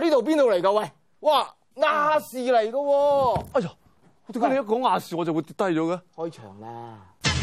呢度邊度嚟㗎？喂，哇，亞視嚟㗎喎！ 哎呀，點解你一講亞視我就會跌低咗嘅？ 開場啦！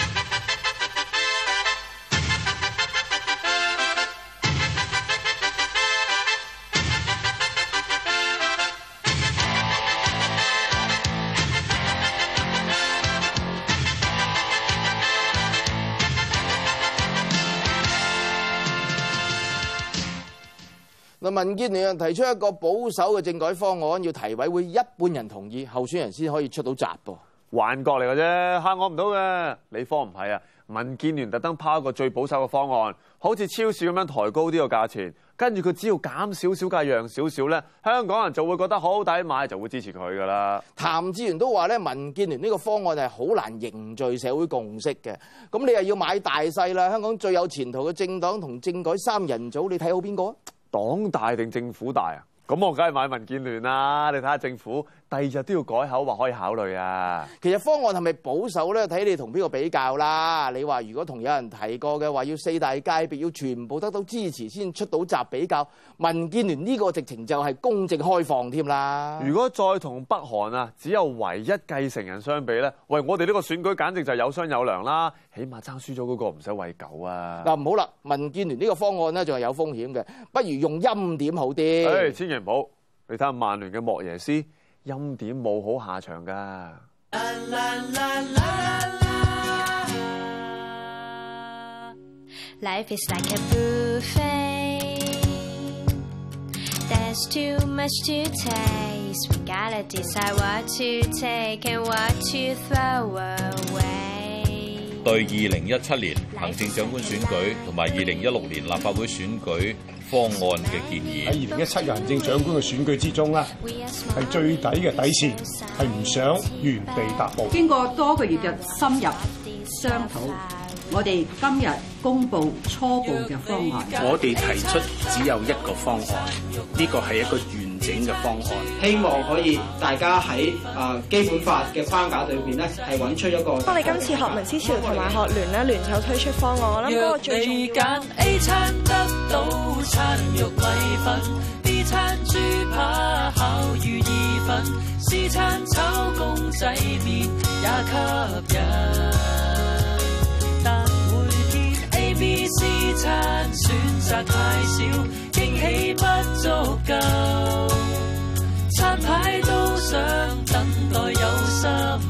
嗱，民建聯提出一個保守嘅政改方案，要提委會一半人同意，候選人先可以出到閘噃。 幻覺嚟嘅啫，嚇我唔到嘅。你科唔係啊？民建聯特登拋一個最保守嘅方案，好似超市咁樣抬高啲個價錢，跟住佢只要減少少價，讓少少咧，香港人就會覺得好抵買，就會支持佢噶啦。 譚志源都話咧，民建聯呢個方案係好難凝聚社會共識嘅。咁你又要買大細啦，香港最有前途嘅政黨同政改三人組，你睇好邊個啊？ 黨大定政府大啊？咁我梗係買民建聯啦！你睇下政府第二日都要改口，話可以考慮啊。 其實方案係咪保守咧？睇你同邊個比較啦。你話如果同有人提過嘅話，要四大界別要全部得到支持先出到閘比較，民建聯呢個直情就係公正開放添啦。如果再同北韓啊只有唯一繼承人相比咧，喂，我哋呢個選舉簡直就有商有量啦，起碼爭輸咗嗰個唔使餵狗啊。嗱，唔好啦，民建聯呢個方案咧仲係有風險嘅，不如用欽點好啲。千祈唔好，你睇下曼聯嘅莫耶斯。欽點冇好下場㗎。 Life is like a buffet. There's too much to taste. We gotta decide what to take and what to throw away. 對2017年行政長官選舉同埋2016年立法會選舉方案嘅建議， 喺2017嘅行政長官嘅選舉之中咧，係最底嘅底線，係唔想原地踏步。 經過多個月嘅深入商討，我哋今日公布初步嘅方案。 我哋提出只有一個方案，呢個係一個完整嘅方案， 希望可以大家喺基本法嘅框架裏邊咧，係揾出一個。 我哋今次學民思潮同埋學聯咧聯手推出方案，我諗嗰個最重要。揀 A 餐得到餐肉米粉 ，B 餐豬扒烤魚意粉 ，C 餐炒公仔麵也吸引。但每天 A、B、C 餐選擇太少，驚喜不足夠。餐牌都想等待有心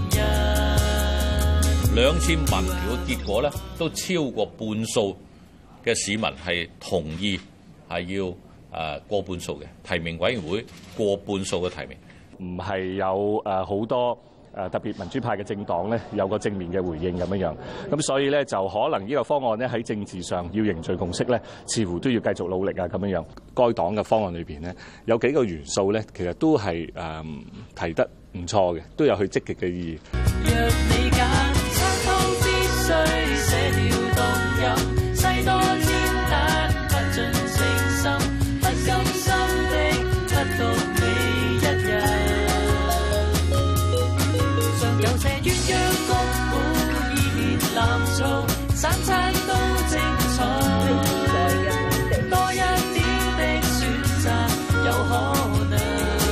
人。 兩次民調嘅結果咧，都超過半數嘅市民係同意係要過半數嘅提名委員會過半數嘅提名， 唔係有好多特別民主派嘅政黨咧有個正面嘅回應咁樣，咁所以咧就可能呢個方案咧喺政治上要凝聚共識咧，似乎都要繼續努力啊咁樣。該黨嘅方案裏邊咧有幾個元素咧，其實都係提得唔錯嘅，都有佢積極嘅意義。若你揀餐湯必須寫了動飲，西多煎蛋不盡誠心，不甘心的不獨你一人。常有這鴛鴦谷古意麵藍醋，三餐都精彩。多一點的選擇有可能。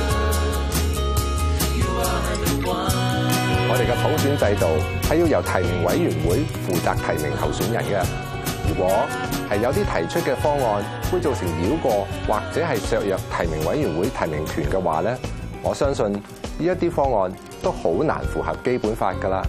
我哋嘅普選制度係要由提名委員會負責提名候選人嘅。如果係有啲提出嘅方案會造成繞過或者係削弱提名委員會提名權嘅話咧，我相信呢一啲方案都好難符合基本法㗎啦。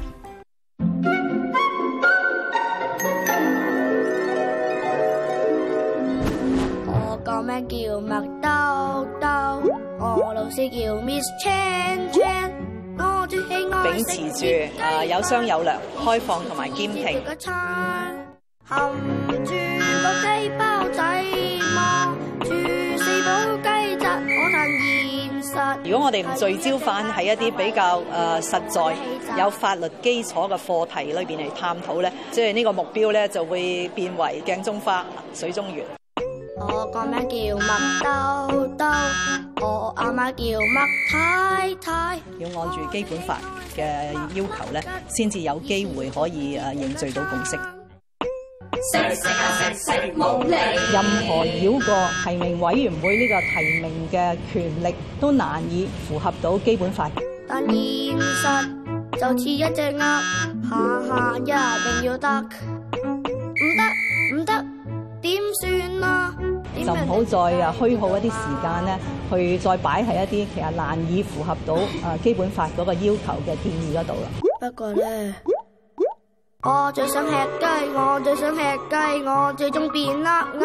我個名叫麥兜兜，我老師叫 Miss Chan Chan。 秉持住有商有量、開放同埋兼併。含住個雞包仔，望住四寶雞扎，可能現實。如果我哋唔聚焦翻喺一啲比較實在、有法律基礎嘅課題裏邊嚟探討咧，即係呢個目標咧就會變為鏡中花、水中月。 我個名叫麥兜兜，我阿媽叫麥太太。 要按住基本法嘅要求咧，先至有機會可以凝聚到共識。 冇理。任何繞過提名委員會呢個提名嘅權力，都難以符合到基本法。 但現實就似一隻鴨，下下一定要得，唔得，點算啊？ 就唔好再虛耗一啲時間咧，去再擺喺一啲其實難以符合到基本法嗰個要求嘅建議嗰度啦。 不過咧，我最想吃雞，我最想吃雞，我最終變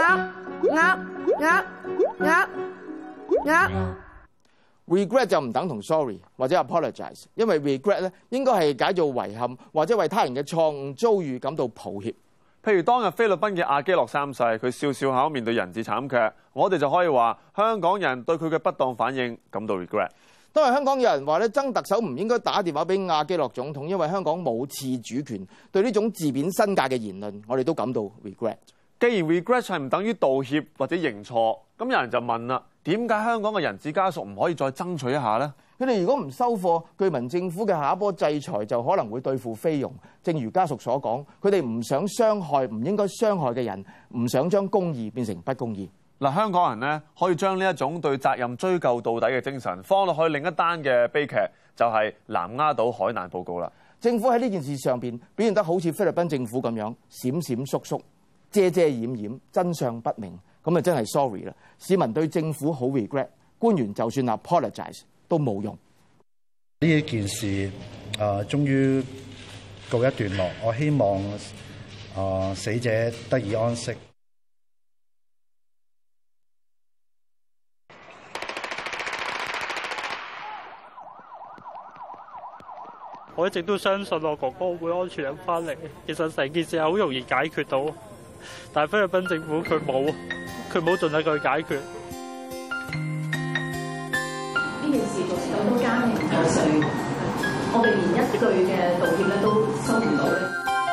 鴨。 regret 就唔等同 sorry 或者 apologize， 因為 regret 咧應該係解做遺憾或者為他人嘅錯誤遭遇感到抱歉。 譬如當日菲律賓嘅阿基諾三世，佢笑笑口面對人質慘劇，我哋就可以話香港人對佢嘅不當反應感到 regret。 當日香港有人話咧，曾特首唔應該打電話俾阿基諾總統，因為香港冇自主權。對呢種自貶身價嘅言論，我哋都感到 regret。 既然 regret 係唔等於道歉或者認錯，咁有人就問啦，點解香港嘅人質家屬唔可以再爭取一下呢？ 佢哋如果唔收貨，據聞政府嘅下一波制裁就可能會對付菲傭。正如家屬所講，佢哋唔想傷害唔應該傷害嘅人，唔想將公義變成不公義。 嗱，香港人呢可以將呢一種對責任追究到底嘅精神放落去另一單嘅悲劇，就係南丫島海難報告啦。 政府喺呢件事上邊表現得好似菲律賓政府咁樣閃閃縮縮、遮遮掩掩、真相不明，咁啊真係 sorry 啦！市民對政府好 regret， 官員就算 apologize 都冇用。 呢一件事終於告一段落，我希望死者得以安息。 我一直都相信我哥哥會安全咁翻嚟。其實成件事係好容易解決到，但係菲律賓政府佢冇盡力去解決。 呢件事造成好多家庭破碎，我哋連一句嘅道歉咧都收唔到咧。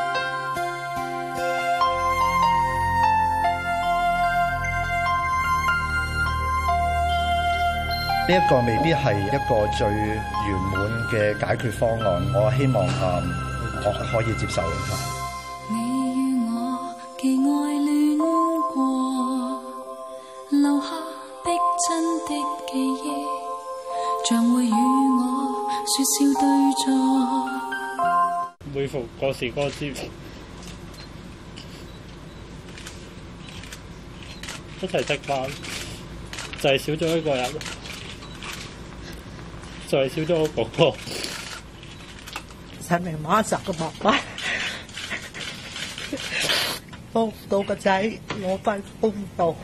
呢一個未必係一個最圓滿嘅解決方案，我希望我可以接受。 你與我既愛戀過，留下逼真的記憶，將會與我説笑對坐。 每逢過時過節，一齊食飯，就係少咗一個人。就係少咗我哥哥， 係咪馬澤嘅爸爸幫唔到個仔攞翻公道？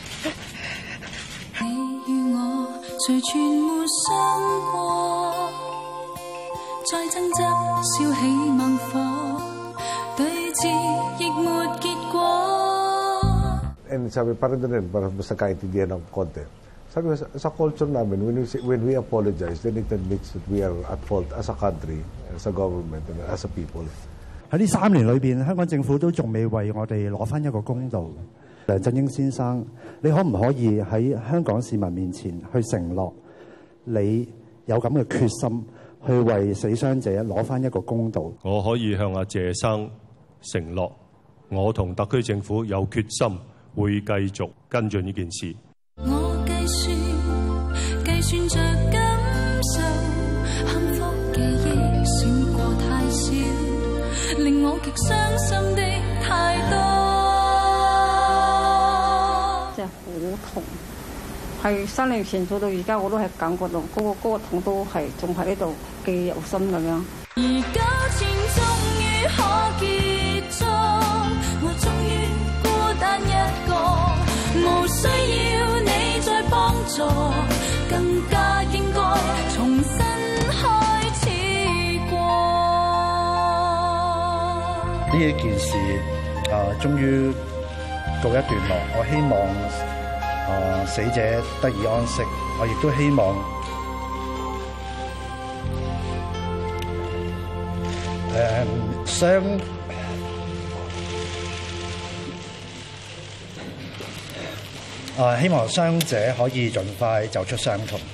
你與我誰全沒想過，再爭執燒起猛火，對峙亦沒結果。 And sabi parang din para sa kaintindihan ng konti. Sabi ko, sa culture namin, when we apologize, then it admits that we are at fault as a country, as a government, and as a people. 喺呢3年裏邊，香港政府都仲未為我哋攞翻一個公道。梁振英先生，你可唔可以喺香港市民面前去承諾，你有咁嘅決心去為死傷者攞翻一個公道？ 我可以向阿謝生承諾，我同特區政府有決心，會繼續跟進呢件事。 計算着感受，幸福記憶閃過太少，令我極傷心的太多。 真係好痛，係3年前做到而家，我都係感覺到嗰個痛都係仲喺呢度記憶猶新咁樣。 而糾纏終於可結束，我終於孤單一個，無需要你再幫助。更加應該重新開始過。 呢一件事終於告一段落，我希望死者得以安息，我亦都希望希望傷者可以盡快走出傷痛。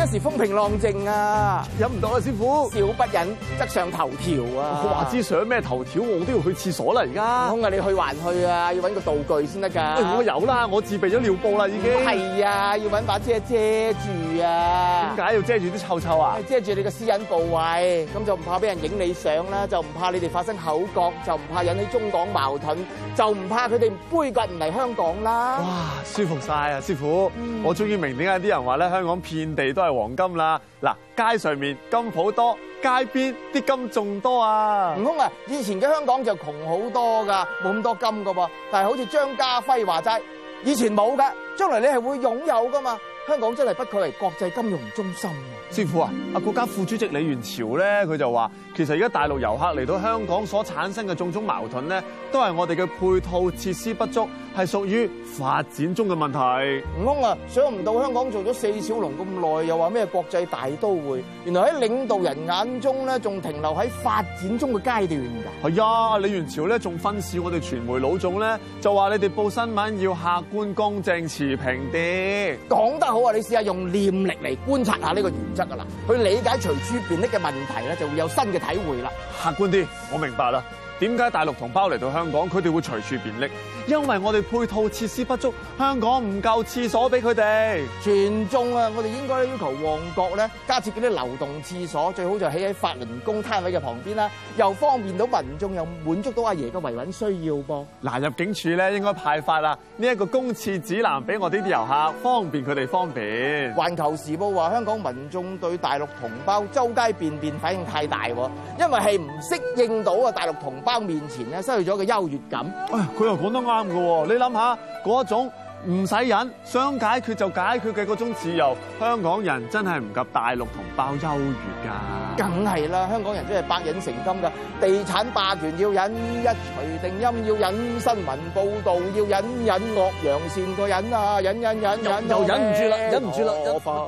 一時風平浪靜啊， 飲唔到啊，師傅。 少不忍則上頭條啊！ 我話知上咩頭條，我都要去廁所啦而家。 空啊，你去還去啊，要揾個道具先得㗎。 我有啦，我自備咗尿布啦已經。 係啊，要揾把遮遮住啊。 點解要遮住啲臭臭啊？ 遮住你個私隱部位，咁就唔怕俾人影你相啦，就唔怕你哋發生口角，就唔怕引起中港矛盾，就唔怕佢哋杯葛唔嚟香港啦。 哇，舒服晒啊，師傅！我終於明點解啲人話咧，香港遍地都係黃金啦。嗱，街上面金鋪多，街邊啲金仲多啊！ 悟空啊，以前嘅香港就窮好多㗎，冇咁多金㗎噃。但係好似張家輝話齋，以前冇㗎，將來你係會擁有㗎嘛。香港真係不愧為國際金融中心啊！ 師傅啊，國家副主席李源潮咧，佢就話，其實而家大陸遊客嚟到香港所產生嘅種種矛盾咧，都係我哋嘅配套設施不足，係屬於發展中嘅問題。 悟空啊，想唔到香港做咗4小龍咁耐，又話咩國際大都會，原來喺領導人眼中咧，仲停留喺發展中嘅階段㗎。 係啊，李源潮咧仲訓示我哋傳媒老總咧，就話你哋報新聞要客觀公正持平啲。 講得好啊！你試下用念力嚟觀察下呢個原則㗎啦，去理解隨處便溺嘅問題咧，就會有新嘅體會啦。 客觀啲，我明白啦。點解大陸同胞嚟到香港，佢哋會隨處便溺？因為我哋配套設施不足，香港唔夠廁所俾佢哋。 全中啊！我哋應該要求旺角咧加設嗰啲流動廁所，最好就起喺法輪功攤位嘅旁邊啦，又方便到民眾，又滿足到阿爺嘅維穩需要噃。 嗱，入境處咧應該派發啦呢一個公廁指南俾我哋啲遊客，方便佢哋方便。 環球時報話香港民眾對大陸同胞周街便便反應太大喎，因為係唔適應到啊大陸同胞面前咧失去咗個優越感。 佢又講得啱嘅喎，你諗下嗰種唔使忍，想解決就解決嘅嗰種自由，香港人真係唔及大陸同胞優越㗎。 梗係啦，香港人真係百忍成金㗎。地產霸權要忍，一錘定音要忍，新聞報導要忍，忍惡揚善個忍啊，忍又忍唔住啦，忍唔住啦，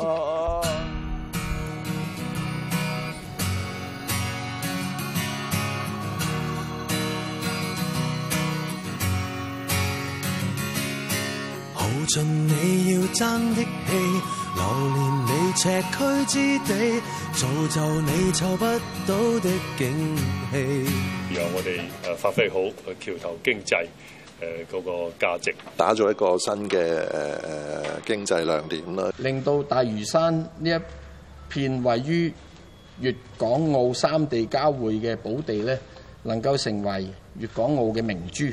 耗盡你要爭的氣，流連你赤區之地，造就你湊不到的景氣。 讓我哋發揮好橋頭經濟嗰個價值， 打造一個新嘅經濟亮點啦， 令到大嶼山呢一片位於粵港澳3地交匯嘅寶地咧，能夠成為粵港澳嘅明珠。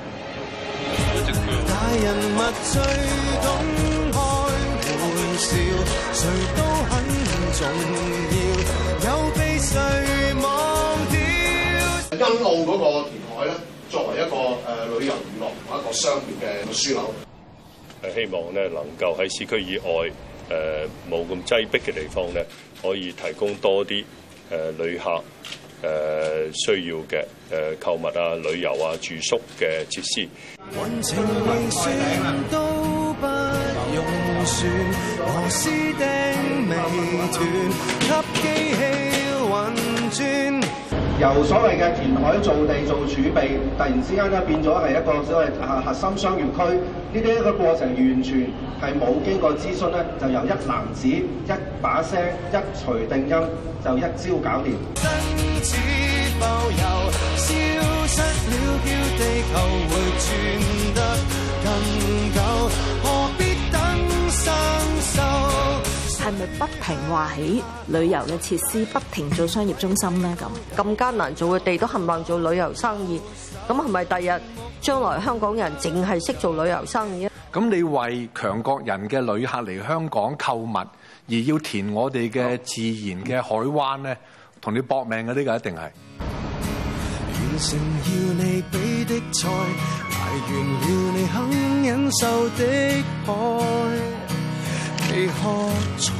大人物最懂開玩笑，誰都很重要，有被誰忘掉？ 欣澳嗰個填海咧，作為一個旅遊娛樂同一個商業嘅樞紐， 希望咧能夠喺市區以外冇咁擠迫嘅地方咧，可以提供多啲旅客需要嘅購物啊、旅遊啊、住宿嘅設施。 運程未算都不用算，螺絲釘未斷，給機器運轉。 由所謂嘅填海造地做儲備，突然之間咧變咗係一個所謂核心商業區，呢啲一個過程完全係冇經過諮詢咧，就由一籃子一把聲一錘定音就一招搞掂。 只浮游消失了，叫地球會轉得更久，何必等生鏽？ 係咪不停話起旅遊嘅設施，不停做商業中心咧？咁艱難做嘅地都冚唪唥做旅遊生意，咁係咪第日將來香港人淨係識做旅遊生意啊？ 咁你為強國人嘅旅客嚟香港購物，而要填我哋嘅自然嘅海灣咧，同你搏命嘅呢個一定係。 完成要你俾的菜，捱完了你肯忍受的愛，未喝彩。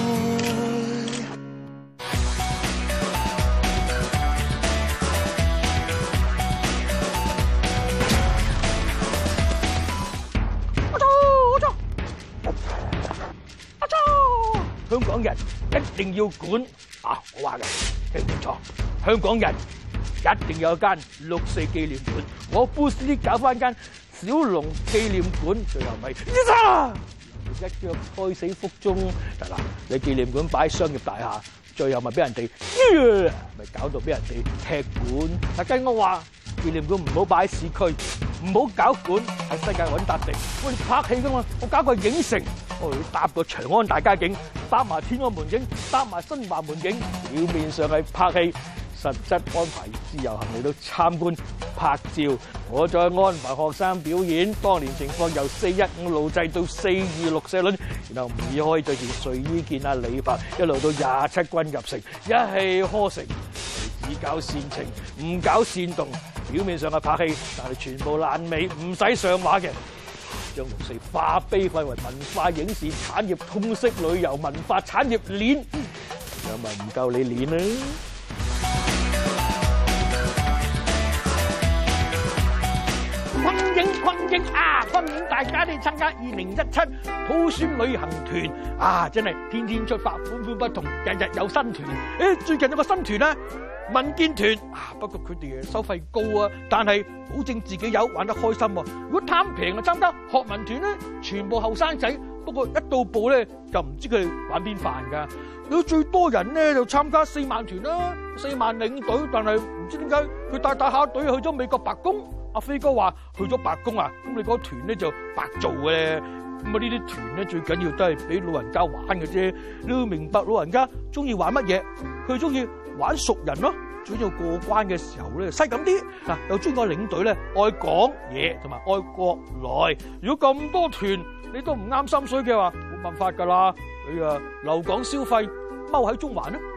香港人一定要管啊！我話嘅聽唔錯，香港人一定有一間6·4紀念館。我 boost 啲搞翻間小龍紀念館，最後咪一腳胎死腹中。嗱，你紀念館擺商業大廈，最後咪俾人哋咪搞到俾人哋踢館。但跟我話，紀念館唔好擺喺市區，唔好搞館，喺世界揾笪地。我哋拍戲噶嘛，我搞個影城，我要搭個長安大街景，搭埋天安門景，搭埋新華門景。表面上係拍戲，實質安排自由行嚟到參觀拍照。我再安排學生表演當年情況，由415路制到426社論，然後唔可以着件睡衣見阿李白，一路到27軍入城，一氣呵成。只搞煽情，唔搞煽動。表面上係拍戲，但係全部爛尾，唔使上畫嘅。將六四化悲憤為文化影視產業通識旅遊文化產業鏈，有咪唔夠你鏈啦？昆英啊！歡迎大家嚟參加2017普選旅行團啊！真係天天出發，款款不同，日日有新團。最近有個新團啦，民建團啊，不過佢哋收費高啊，但係保證自己有玩得開心。如果貪平啊，參加學民團咧，全部後生仔，不過一到埗咧就唔知佢哋玩邊飯㗎。如果最多人咧就參加4萬團啦，4萬領隊，但係唔知點解佢帶下隊去咗美國白宮。阿飛哥話去咗白宮啊，咁你嗰團咧就白做嘅咧。咁啊呢啲團咧最緊要都係俾老人家玩嘅啫。你要明白老人家中意玩乜嘢，佢中意玩熟人咯。最要過關嘅時候咧，細咁啲嗱，又中意個領隊咧愛講嘢同埋愛國內。如果咁多團你都唔啱心水嘅話，冇辦法㗎啦。你啊留港消費，踎喺中環啦。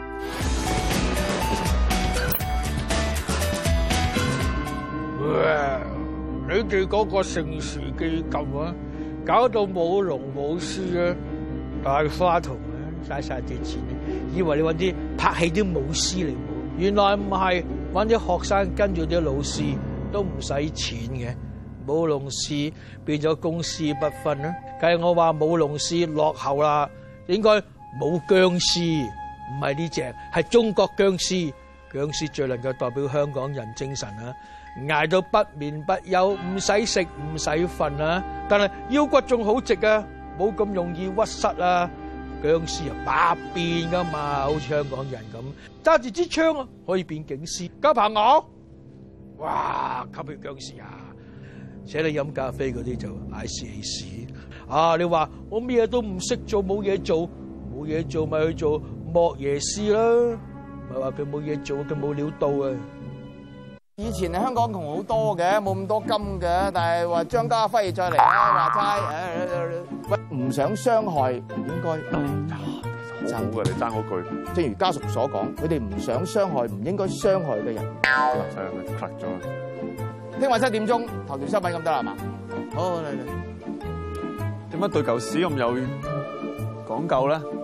你哋嗰個盛事基金啊，搞到冇龍冇獅啊，大花筒啊，嘥晒啲錢，以為你揾啲拍戲啲武師嚟舞，原來唔係，揾啲學生跟住啲老師都唔使錢嘅，舞龍獅變咗公私不分啦。計我話舞龍獅落後啦，應該舞僵屍，唔係呢隻，係中國僵屍。僵屍最能夠代表香港人精神啊！捱到不眠不休，唔使食唔使瞓啊！但係腰骨仲好直啊，冇咁容易屈膝啊！僵屍啊百變噶嘛，好似香港人咁，揸住支槍啊可以變警司。交朋友，哇吸血僵屍啊！請你飲咖啡嗰啲就嗌屎屎啊！你話我咩都唔識做，冇嘢做，冇嘢做咪去做莫耶斯啦！唔係話佢冇嘢做，佢冇料到啊！ 以前香港窮好多嘅，冇咁多金嘅，但係話張家輝再嚟啦，話齋唔想傷害，唔應該。 好好嘅，你爭嗰句。 正如家屬所講，佢哋唔想傷害唔應該傷害嘅人。 真係 cut 咗。 聽晚7點鐘頭條新聞咁得啦嘛？好嚟。 點解對舊屎咁有講究咧？